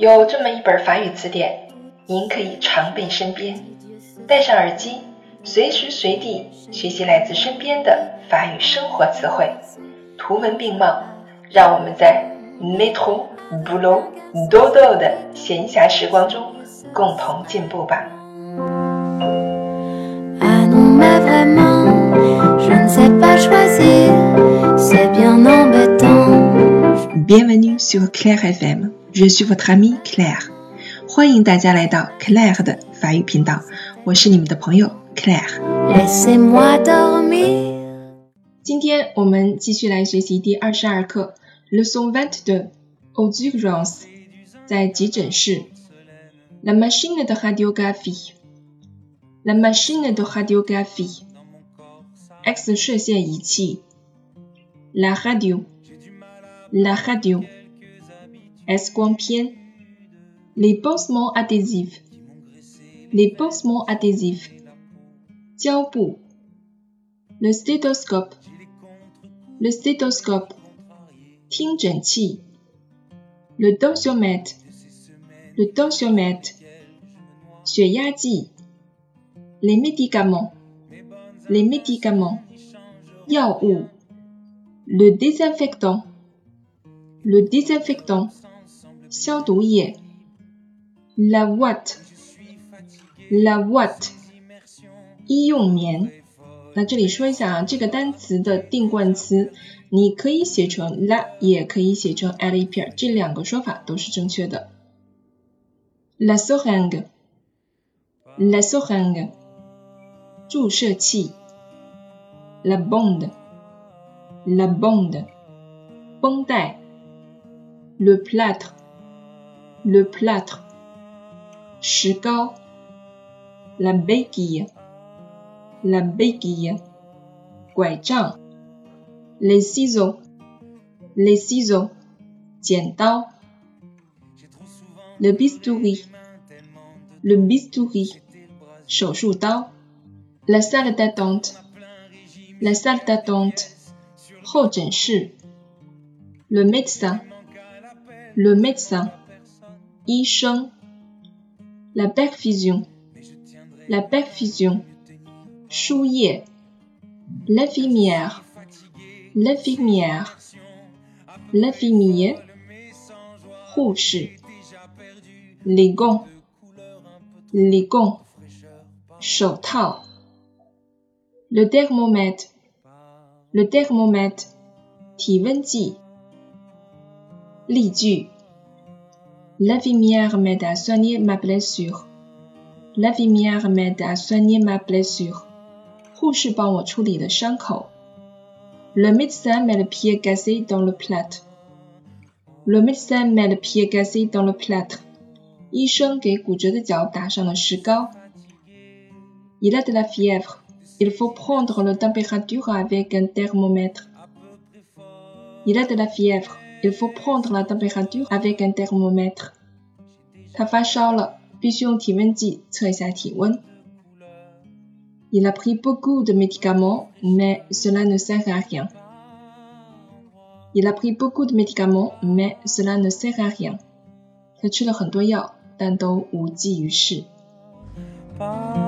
有这么一本法语词典，您可以常备身边，戴上耳机，随时随地学习来自身边的法语生活词汇，图文并茂，让我们在 métro、boulot、dodo 的闲暇时光中共同进步吧。Bienvenue sur Claire FM, je suis votre amie Claire. 欢迎大家来到 Claire 的法语频道，我是你们的朋友 Claire。今天我们继续来学习第22课 Leçon 22 aux urgences 在急诊室 La machine de radiographie La machine de radiographie X 射线仪器 La radio La radio S 光片 Les pansements adhésifs Les pansements adhésifs 胶布 Le stéthoscope Le stéthoscope 听诊器 Le tensiomètre Le tensiomètre 血压计 Les médicaments Les médicaments 药物 Le désinfectant Le désinfectant 消毒液 La ouate La ouate 医用棉。那这里说一下这个单词的定冠词，你可以写成 la 也可以写成 à l'épier， 这两个说法都是正确的。La seringue La seringue 注射器 La bande La bande 绷带 Le plâtre Le plâtre 石膏 La béquille La béquille 拐杖 Les ciseaux Les ciseaux 剪刀 Le bistouri Le bistouri 手术刀 La salle d'attente La salle d'attente 候诊室 Le médecin Le médecin 医生 La perfusion La perfusion 输液 L'infirmière L'infirmière L'infirmier 护士 Les gants Les gants 手套 Le thermomètre Le thermomètre 体温计例句 L'infirmière m'aide à soigner ma blessure L'infirmière m'aide à soigner ma blessure 护士帮我处理了伤口 Le médecin met le pied cassé dans le plâtre Le médecin met le pied cassé dans le plâtre 医生给骨折的脚打上了石膏 Il a de la fièvre Il faut prendre la température avec un thermomètre Il a de la fièvre Il faut prendre la température avec un thermomètre 他发烧了必须用体温计测一下体温 Il a pris beaucoup de médicaments, mais cela ne sert à rien. Il a pris beaucoup de médicaments, mais cela ne sert à rien. 他吃了很多药，但都无济于事。